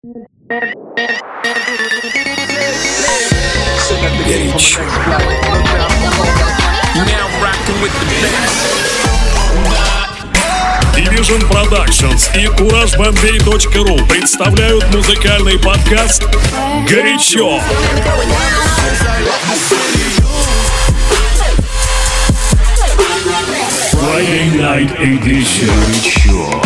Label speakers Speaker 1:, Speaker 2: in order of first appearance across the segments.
Speaker 1: Горячо.
Speaker 2: Division Productions и CourageBombay.ru представляют музыкальный подкаст «Горячо». Friday Night Edition. Горячо.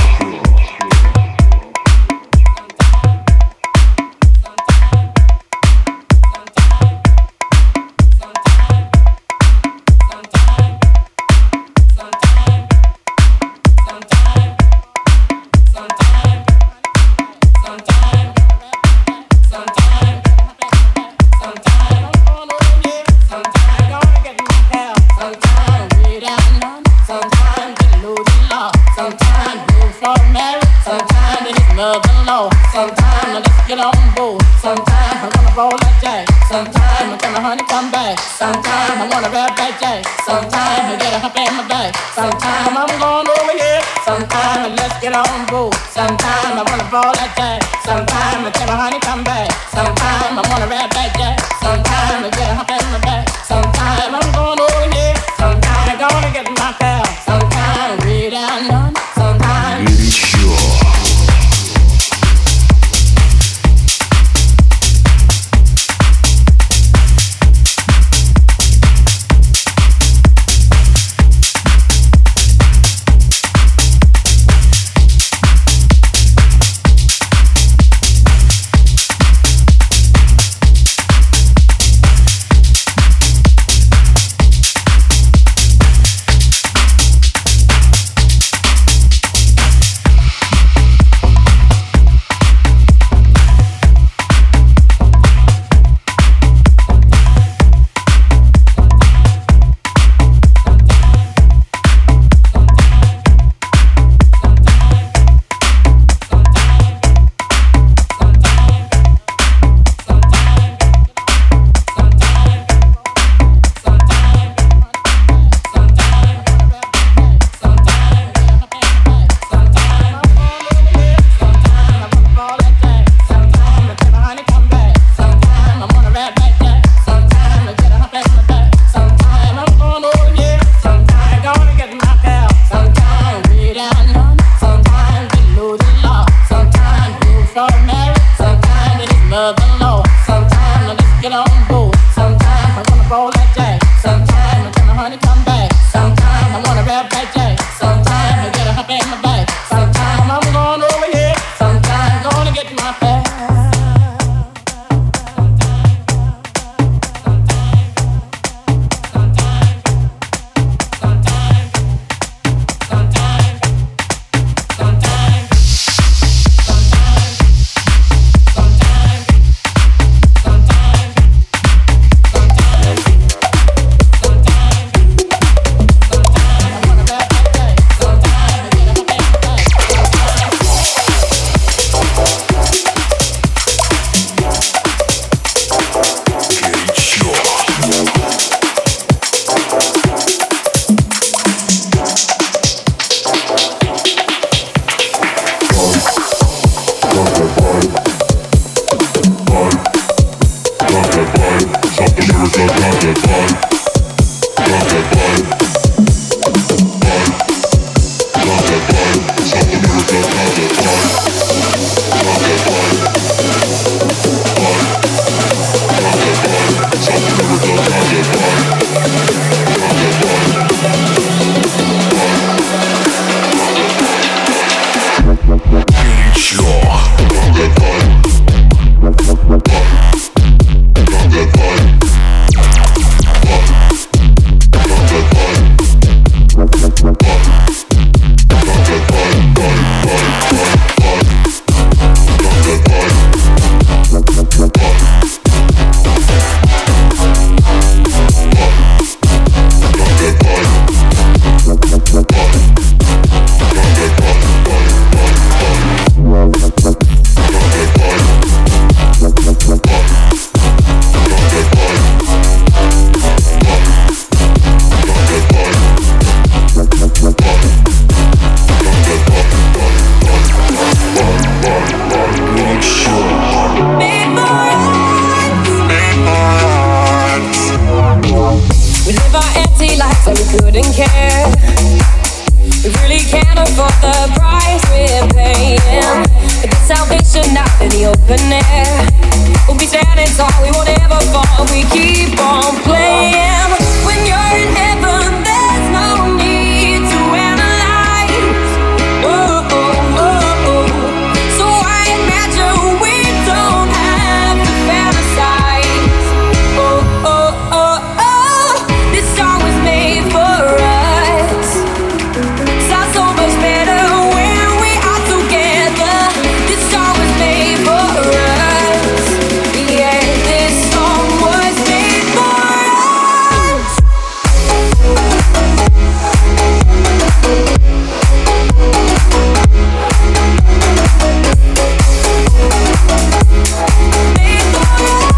Speaker 3: didn't care. We really can't afford the price we're paying. To get salvation out in the open air. We'll be standing tall, we won't ever fall. We keep on playing. When you're in heaven, there's no need to analyze. Oh, oh, oh, oh. So I imagine we don't have to fantasize. Oh, oh, oh, oh. This song was made for us. Sounds so much better when we are together. This song was made for us. Yeah, this song was made for us. Made for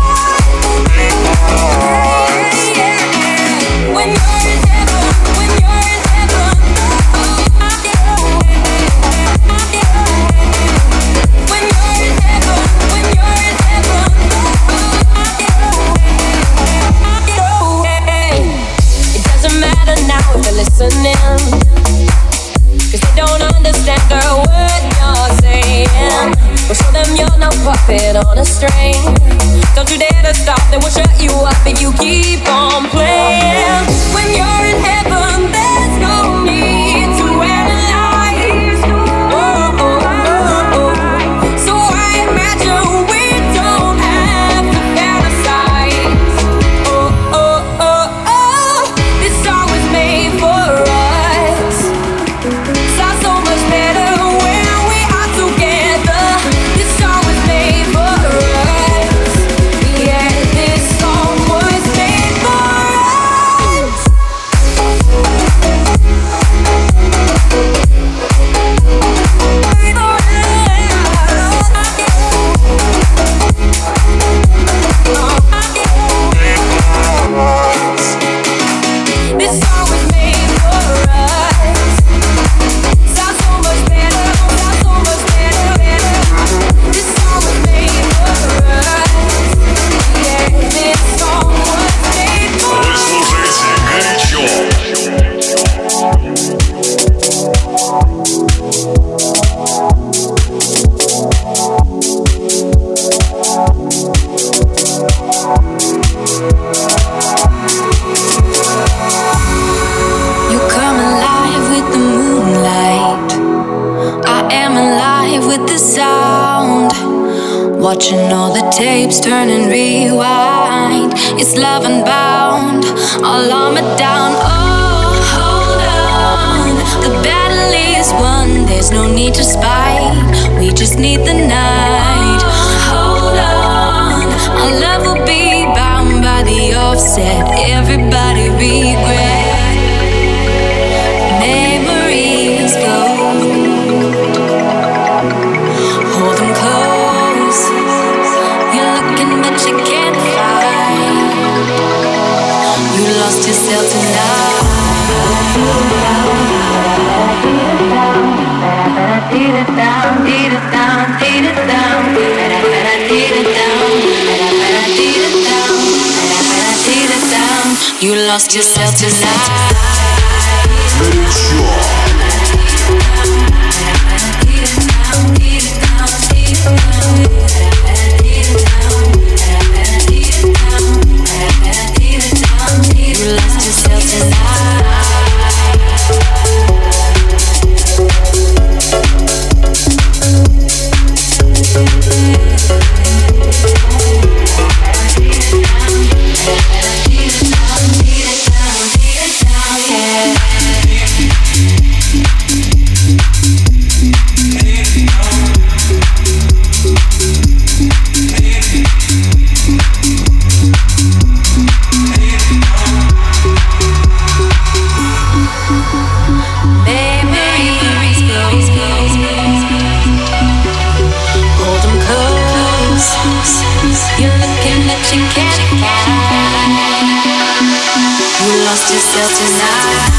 Speaker 3: us. Yeah, yeah. When you're in heaven, when you're in heaven. When you're in heaven, when you're in heaven. It doesn't matter now if they're listening, 'cause they don't understand the word you're saying. We'll show them you're no puppet on a string. Don't you dare to stop, they will shut you up if you keep on playing. When you're in heaven, there's no need to analyze. Oh, oh, oh, oh. So I imagine we don't have to fantasize. Oh, oh, oh, oh. This song was made for us. Sounds so much better when we are together. This song was made for us. Yeah, this song was made for us. This song was made for us. Sounds so much better, sounds so much better, better. This song was made for us. Yeah, this song was made for
Speaker 2: Вы
Speaker 3: us.
Speaker 2: слушаете «Горячо».
Speaker 4: You come alive with the moonlight. I am alive with the sound. Watching all the tapes turn and rewind. It's love unbound, all armored down. Oh, hold on. The battle is won. There's no need to spite. We just need the night. Hold on. Our love will be bound by the offset. Everybody regret. Memories go. Hold them close. You're looking but you can't find. You lost yourself tonight. Beat it down, beat it down, beat it down, beat it down, beat it down, beat it down. You lost yourself tonight. You lost yourself tonight. lost yourself tonight.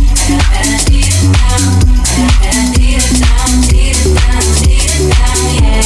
Speaker 4: Yeah.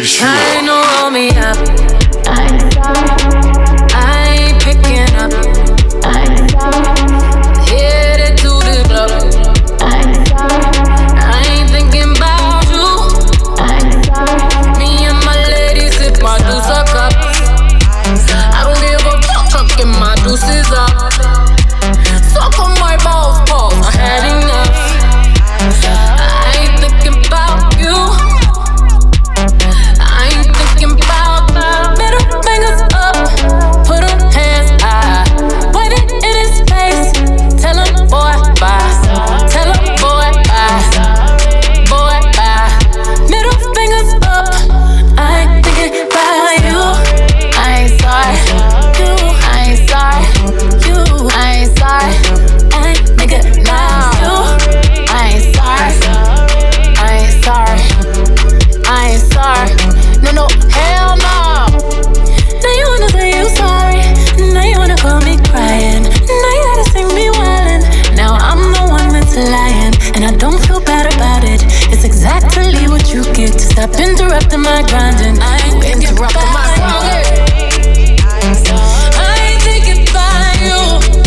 Speaker 2: Горячо.
Speaker 4: I know, roll me up. I ain't picking up. Headed to the club. I ain't thinking about you. Me and my lady sip my juice a cup. I don't give a fuck, chucking my juices up. Suck on my balls, pause, I had enough. I ain't thinking about you. I ain't thinking about middle fingers up. Put them hands high. Wave it in his face. Tell him, boy, bye. Tell him, boy, bye. Boy, bye. Middle fingers up. I ain't thinking about you. I ain't sorry. You, I ain't sorry. You, I ain't sorry. I ain't nigga now. You, I ain't sorry. I ain't sorry. I ain't sorry. No, no, hell no. Now you wanna say you sorry. Now you wanna call me crying. Now you gotta see me wildin'. Now I'm the one that's lying, and I don't feel bad about it. It's exactly what you get to stop interrupting my grinding. I ain't interrupting my grinding. I ain't thinking about you.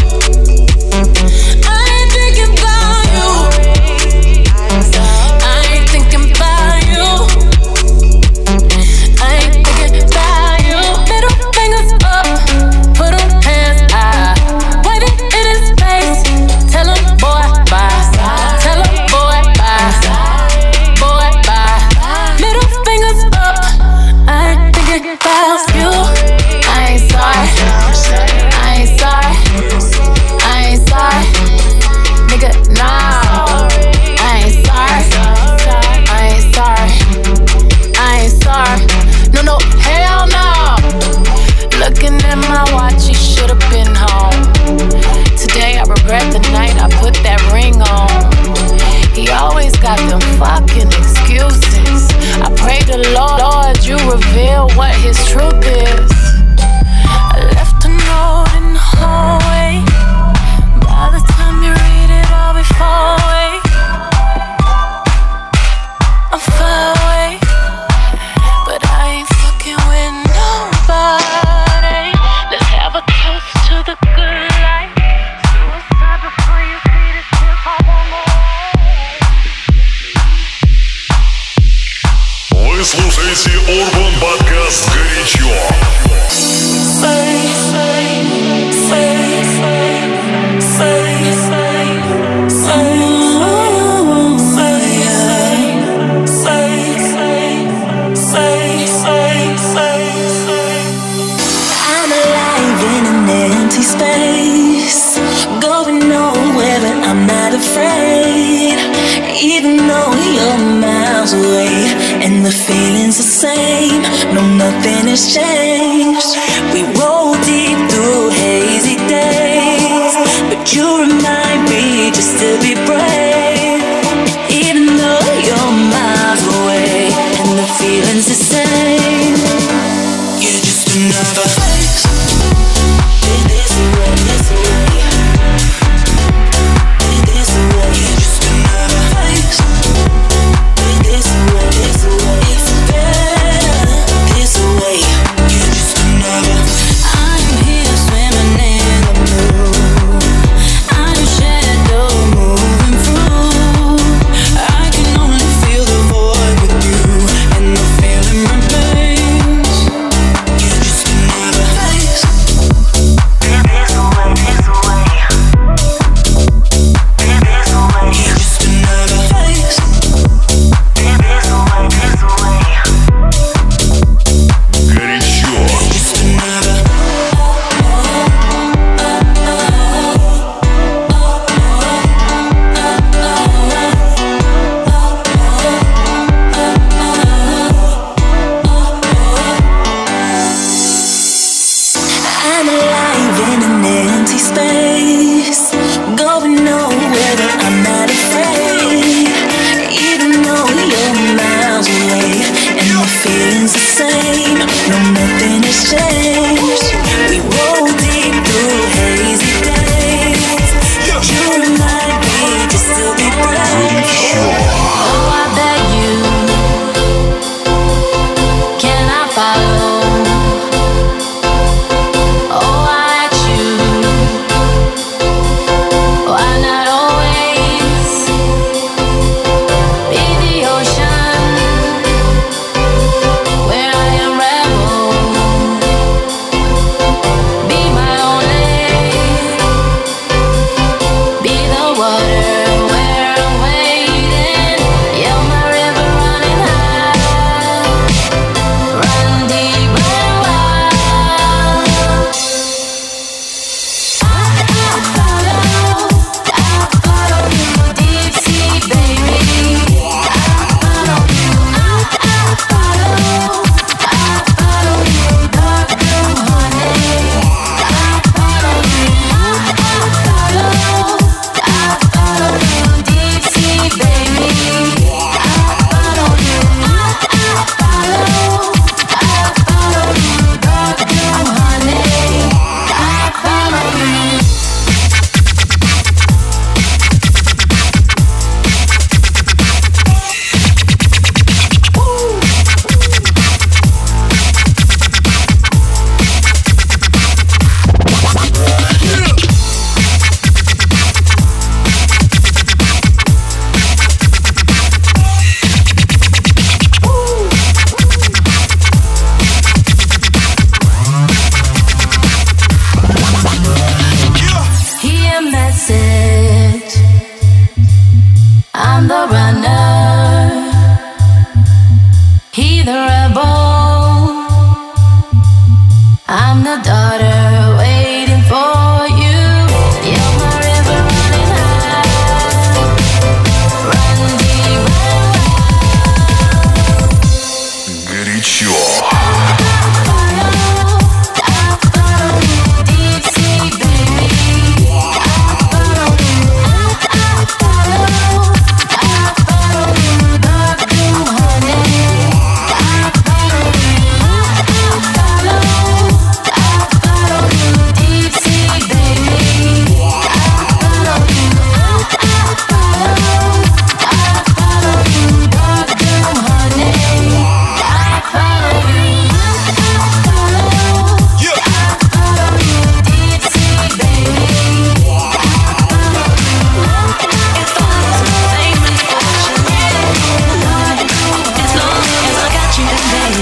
Speaker 4: I ain't thinking about you. I ain't thinking about you. I ain't thinking about you. Middle fingers up, put them hands high. Wave it in his face. Tell him, boy, bye. Tell him, boy, bye. Boy, bye. Middle fingers up. I ain't thinking about you. I ain't sorry. I ain't sorry. I ain't sorry. Nigga, nah. I ain't sorry. I ain't sorry. I ain't sorry. No, no, hell no. Looking at my watch, he should've been home. Today I regret the night I put that ring on. He always got them fucking excuses. I pray the Lord you reveal what his truth is. I left a note in the hallway. By the time you read it, I'll be far away. I'm far away, but I ain't fucking with nobody. Let's have a toast to the good life. Suicide before you see this shit fall on the
Speaker 2: Вы слушаете Urban Podcast «Горячо».
Speaker 5: I'm alive in an empty space, going nowhere, but I'm not afraid. Even though you're miles away and the feeling's the same, no, nothing has changed. We roll deep through hazy days, but you remind me just to be brave. Even though you're miles away and the feeling's the same, you're just another face. This way, this way. This way, you're just another face. This way, it's better. This way, you're just another.
Speaker 4: daughter waiting for you. You're my river running high. Run deep, run wide.
Speaker 2: Горячо.
Speaker 4: Deep sea, baby. I follow you. I follow. Dark blue, honey. I follow you. Deep sea, baby. I follow you. I follow you. Dark blue, honey. I follow you. Deep sea, baby. If I lose my fame and fortune, as long as I got you, baby.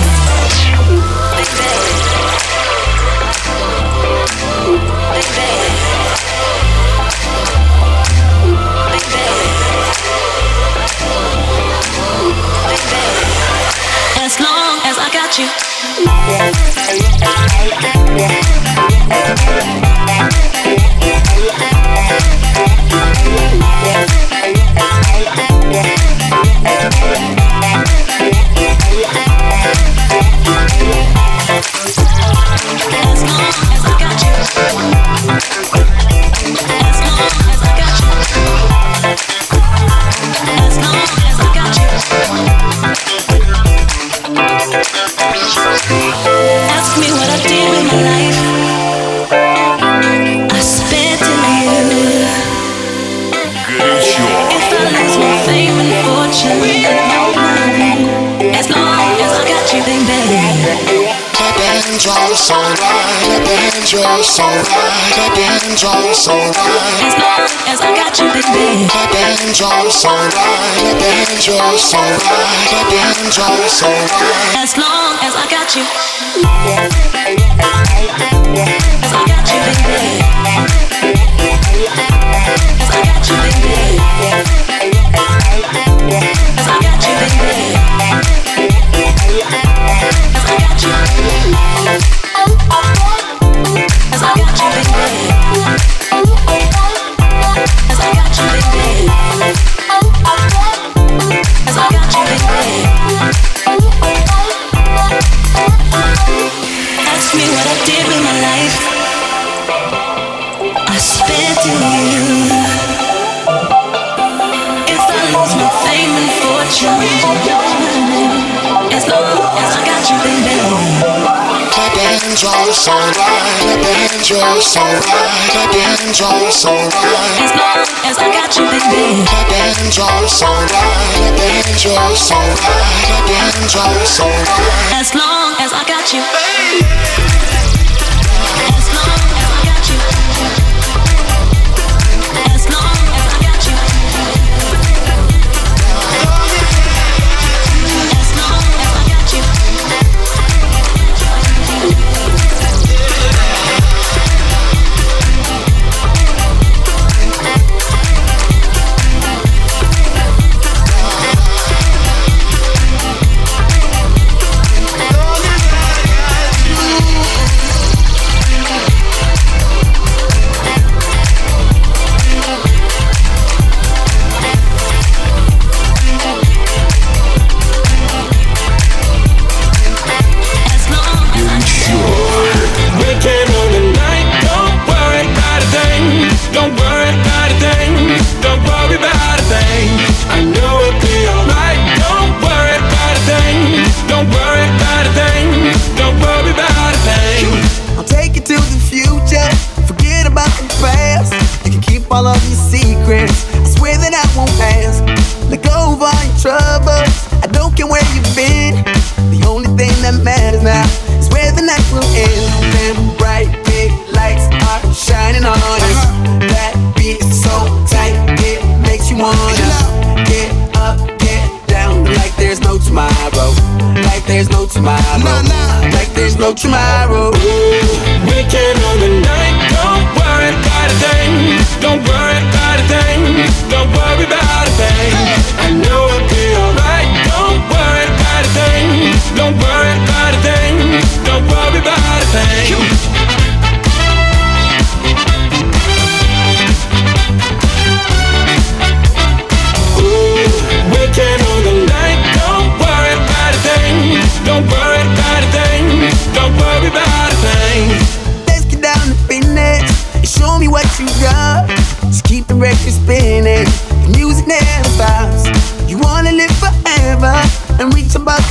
Speaker 4: As long as I got you. As long as I got you. As long as I got you. As long as I got you. Ask me what I did with my life. I spent it on you.
Speaker 2: Горячо.
Speaker 4: If I lose my fame and fortune, as long as I got you, baby.
Speaker 1: Just alright, just alright, just alright.
Speaker 4: As long as I got you, baby.
Speaker 1: Just alright, just alright, just alright.
Speaker 4: As long as I got you. As I got you, baby. As I got you, baby. As I got you, baby. As I got you. As I got you, baby. As I got you, baby. As I got you, baby. Ask me what I did with my life. I spent it on you. If I lose my fame and fortune, as long as I got you, baby.
Speaker 1: Just alright, just alright, just alright.
Speaker 4: As long as I got you, baby.
Speaker 1: Just alright, just alright, just alright.
Speaker 4: As long as I got you. As long as I got you. As long as I got you. As long as I got you.
Speaker 6: All of your secrets, I swear that I won't pass. Let go of all your troubles, I don't care where you've been. The only thing that matters now is where the night will end. Them bright big lights are shining on us. That beat is so tight, it makes you wanna get up, get down, like there's no tomorrow. Like there's no tomorrow. Like there's no tomorrow.
Speaker 7: Weekend on the night, don't worry about a thing. Don't worry about a thing. Don't worry about a thing. I know it'll be alright. Don't worry about a thing. Don't worry about a thing. Don't worry about a thing.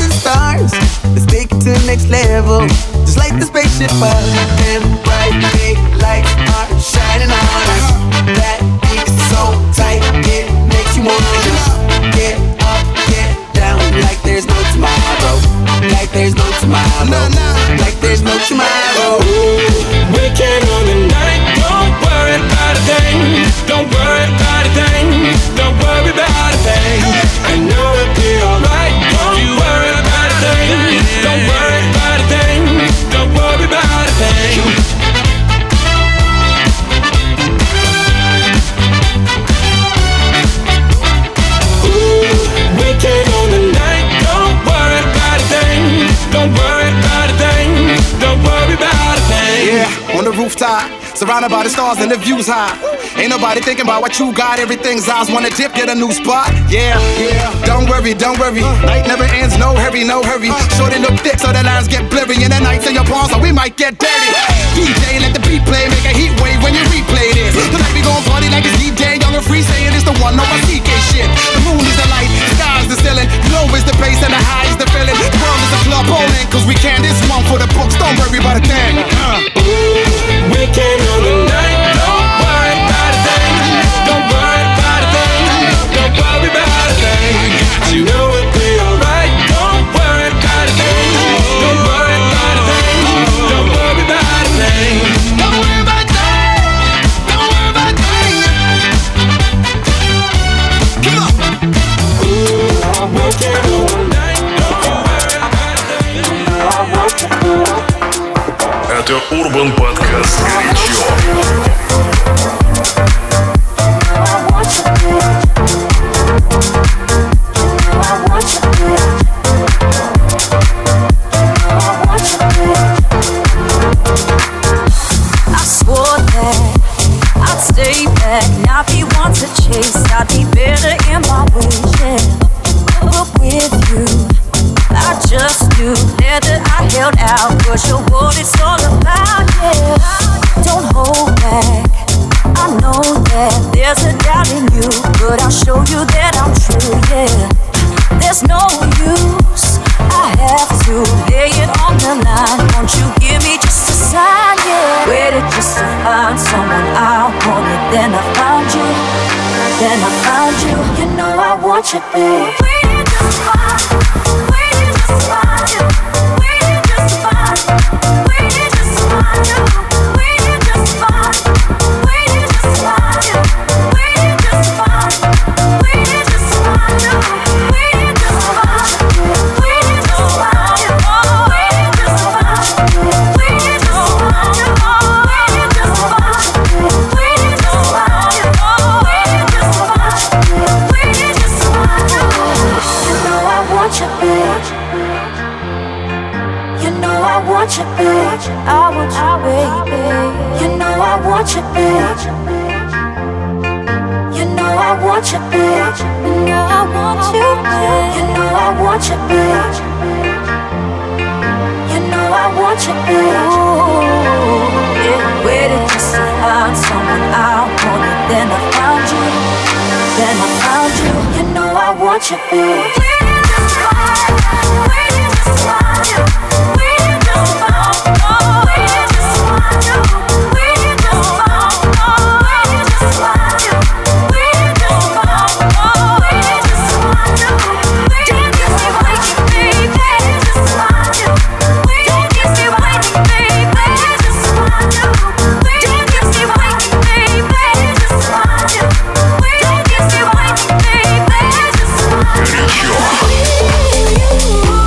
Speaker 6: the stars. Let's take it to the next level. Just like the spaceship up. Them bright big lights are shining on us. That beat is so tight, it makes you wanna get up, get down, like there's no tomorrow. Like there's no tomorrow. Like there's no tomorrow.
Speaker 7: Weekend on the night, don't worry about a thing. Don't worry about a thing. Don't worry about a thing. I know it'll be alright. Don't you worry about a thing. Don't worry about a thing. Don't worry about a thing. Weekend on the night, don't worry about a thing. Don't worry about a thing. Don't worry about a thing.
Speaker 8: Yeah, on the rooftop, surrounded by the stars and the views high. Ain't nobody thinking about what you got. Everything's eyes wanna dip, get a new spot. Yeah, don't worry, don't worry. Night never ends, no hurry, no hurry. Shorty look thick so the lines get blurry. And the nights in your palms, so we might get dirty. DJ, let the beat play, make a heat wave when you replay this. Tonight we gon' party like it's DJ, young and free, saying it's the one on my CK shit. The moon is the light, the sky is the ceiling. Low is the bass and the high is the feeling. The world is a club bowling, cause we can. This one for the books, don't worry about a thing.
Speaker 7: Weekend on the night, don't worry about a thing. Don't worry about a thing. Don't worry about a thing. I know it'll be alright. Don't worry about a thing. Don't worry about a thing. Don't worry about a thing.
Speaker 8: Don't worry about a thing. Don't worry about a thing. Come on.
Speaker 7: Weekend on the night, don't worry about a thing.
Speaker 2: Это Urban Podcast «Горячо».
Speaker 4: Now if he wants to chase, I'd be better in my way, yeah. But with you, I just knew that I held out, 'cause you're what it's all about, yeah. Don't hold back, I know that there's a doubt in you, but I'll show you that I'm true, yeah. There's no use, I have to lay it on the line. Won't you give me just a sign, yeah. Waited just to find someone I wanted, then I found you, then I found you. You know I want you, babe. Waited just to find you, waited just to find you, waited just to find you, waited just to find you, waited just to find you, waited just to find you, waited just to find you, waited just to find you, waited just to find you, waited just to find you, waited just to find you, waited just to find you, waited just to find you, waited just to find you, waited just to find you, waited just to find you. You know I want you, bitch. You know I want you, bitch. I want you, baby. You know I want you, bitch. You know I want you, bitch. You know I want you, bitch. You know I want you, bitch. You know I want you, bitch. Yeah, waited just to find someone I wanted, then I found you, then I found you. You know I want you, bitch. Waited just to find you, waited just to find you, waited just to find you, waited just to find you, waited just to find you, waited just to find you, waited just to find you, waited just to find you, don't keep me waiting, baby, just to find you, don't keep me waiting, baby, just to find you, don't keep me waiting, baby, just to find you, don't keep me waiting, baby, just to find you.
Speaker 2: «Горячо».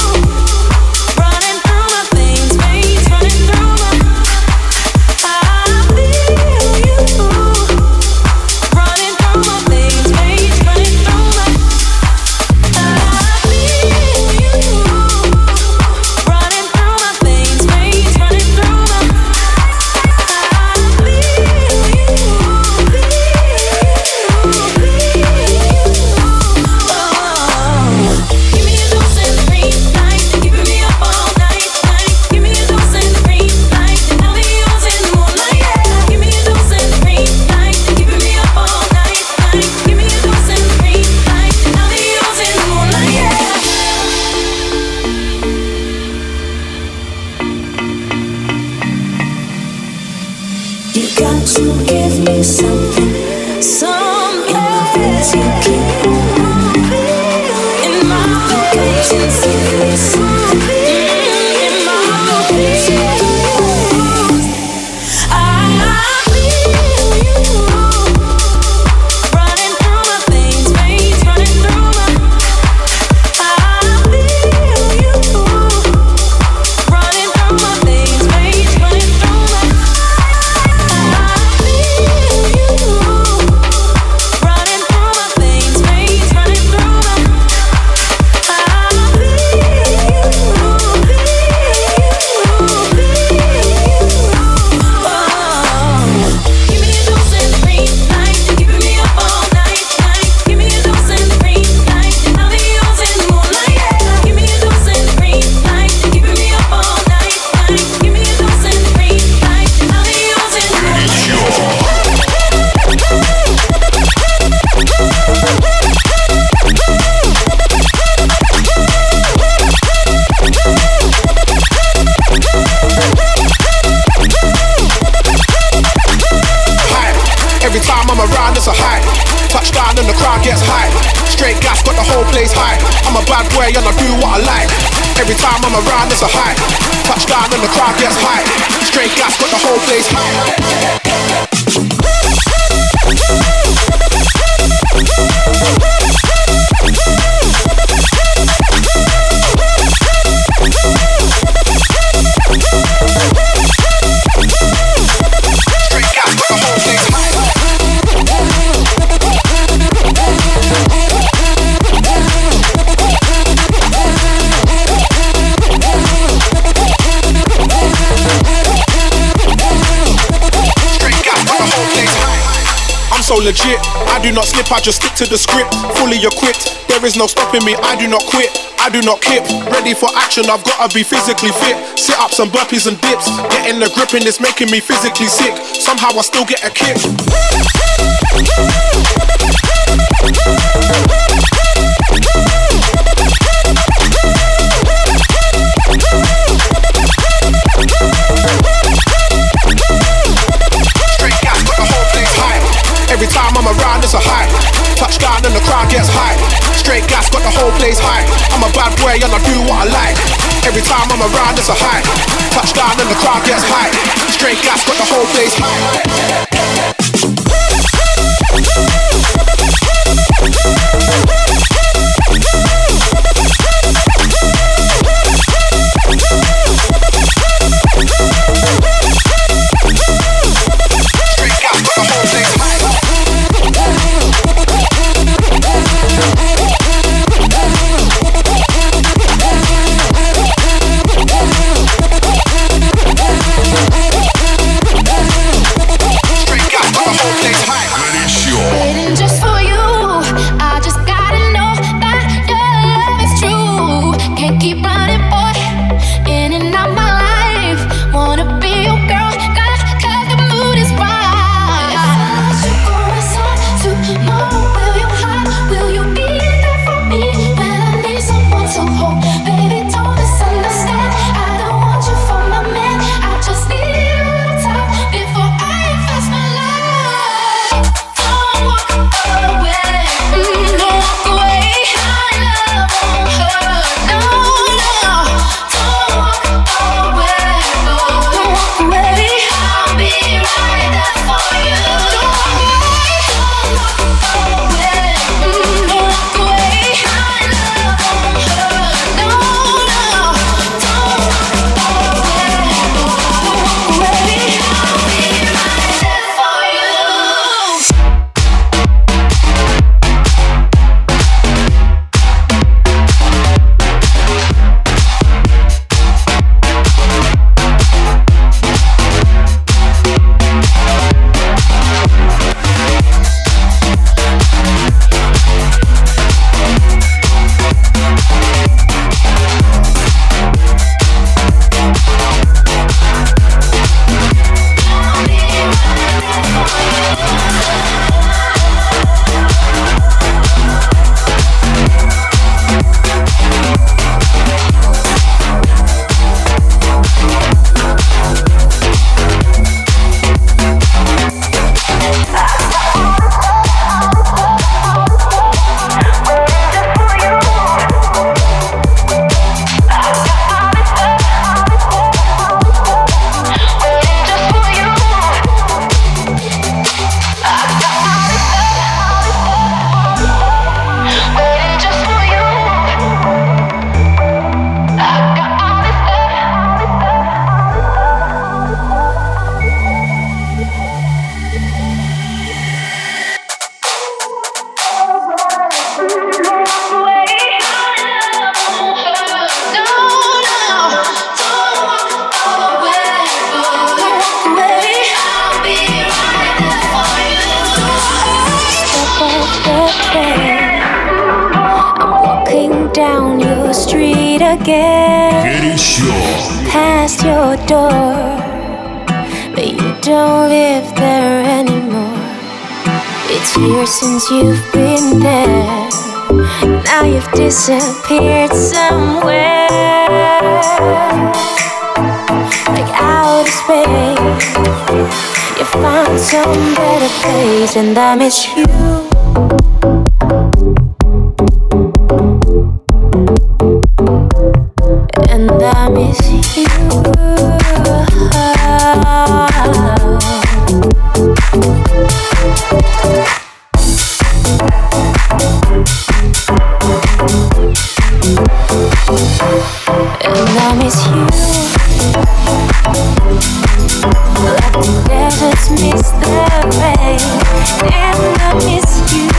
Speaker 5: You got to give me something. In my veins you keep on moving. In my veins you give me something. In my veins you keep on moving. I feel you running through my veins running through my. I feel you running through my veins running through my.
Speaker 8: It's a high. Touchdown and the crowd gets high. Straight gas, got the whole place high. I'm a bad boy and I do what I like. Every time I'm around, it's a high. Touchdown and the crowd gets high. Straight gas, got the whole place high. So legit, I do not slip, I just stick to the script. Fully equipped, there is no stopping me, I do not quit, I do not kip. Ready for action, I've gotta be physically fit. Sit-ups and burpees and dips. Getting the grip and it's making me physically sick. Somehow I still get a kick. Every time I'm around, it's a high. Touchdown and the crowd gets high. Straight gas, got the whole place high. I'm a bad boy and I do what I like. Every time I'm around, it's a high. Touchdown and the crowd gets high. Straight gas, got the whole place high.
Speaker 3: get
Speaker 2: Горячо.
Speaker 3: past your door, but you don't live there anymore. It's years since you've been there. Now you've disappeared somewhere, like outer space. You found some better place, and I miss you. And I miss you. And I miss you, like the deserts miss the rain. And I miss you.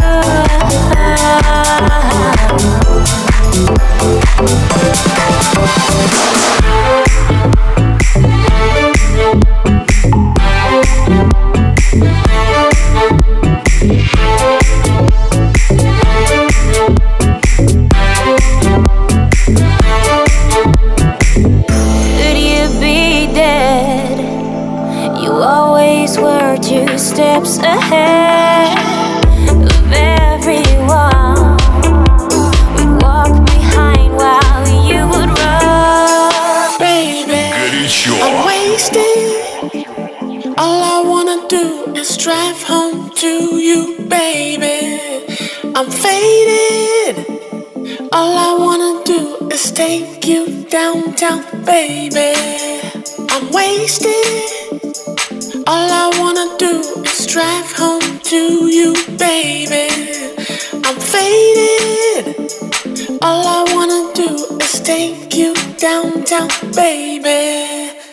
Speaker 3: Steps ahead of everyone. We'd walk behind while you would run.
Speaker 9: Baby,
Speaker 2: Горячо.
Speaker 9: I'm wasted. All I wanna do is drive home to you, baby. I'm faded. All I wanna do is take you downtown, baby. I'm wasted. All I wanna do is drive home to you, baby. I'm faded. All I wanna do is take you downtown, baby.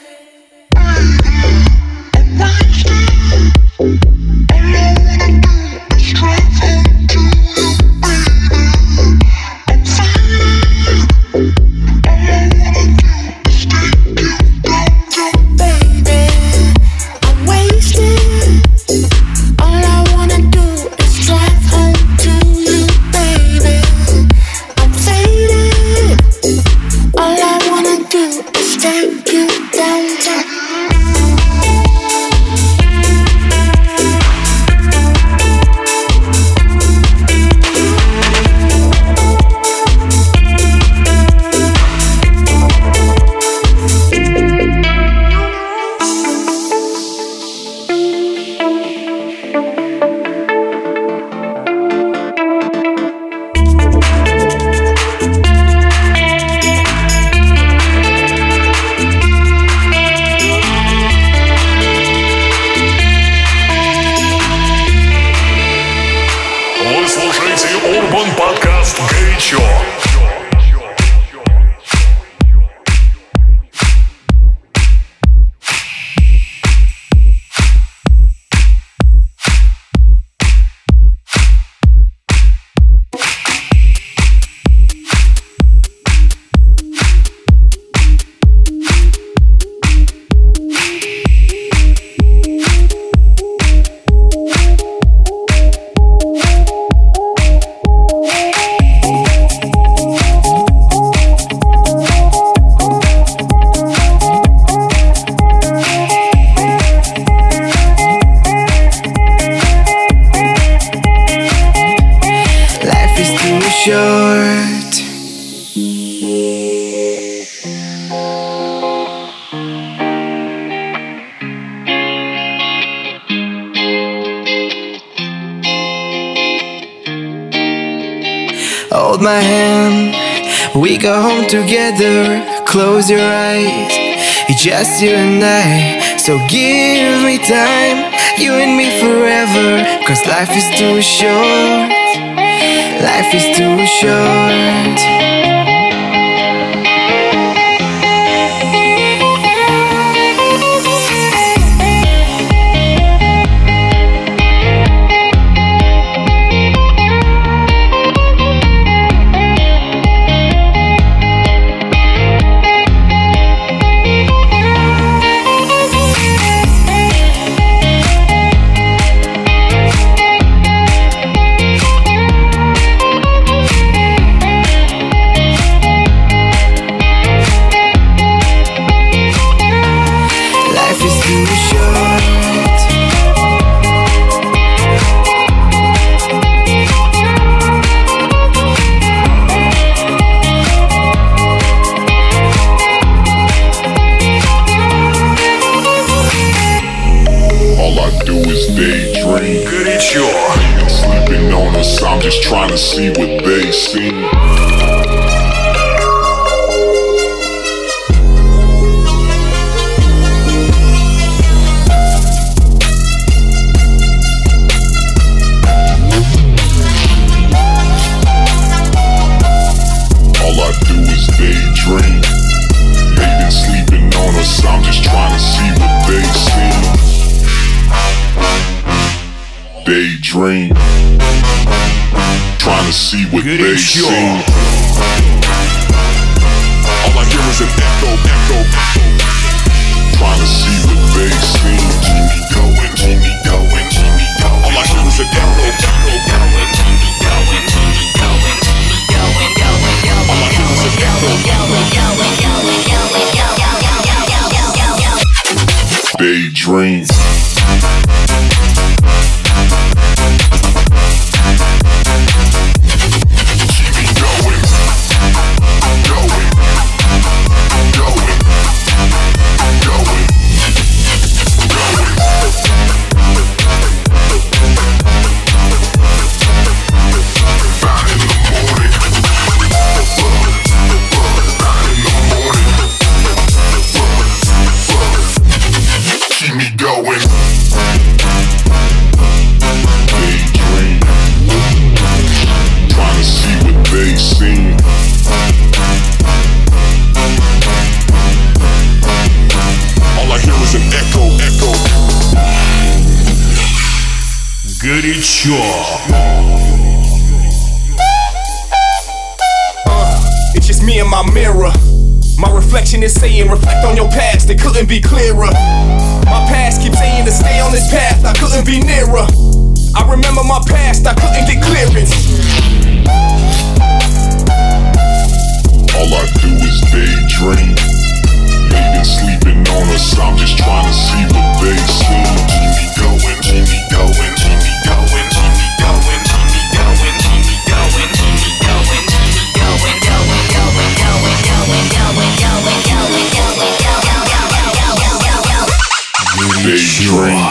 Speaker 6: Hold my hand, we go home together. Close your eyes, it's just you and I. So give me time, you and me forever. 'Cause life is too short, life is too short.
Speaker 2: to see what they see. All I do is daydream. They've been sleeping on us, I'm just trying to see what they see. Daydream, trying to see what they see. All I hear is an echo, echo. Trying to see what they see. Keep me going, keep me going, keep me going. All I hear is an echo, echo. All I hear is an echo. Daydream.
Speaker 7: Горячо.
Speaker 10: It's just me and my mirror. My reflection is saying, reflect on your past, it couldn't be clearer. My past keeps saying to stay on this path, I couldn't be nearer. I remember my past, I couldn't get clearance.
Speaker 2: All I do is daydream. They've been sleeping on us, I'm just trying to see what they see. Keep me going, keep me going, keep me going, keep me going, keep me going, keep me going, keep me going, keep me going, daydream.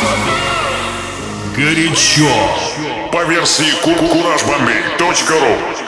Speaker 2: Горячо. По версии CourageBombay.ru.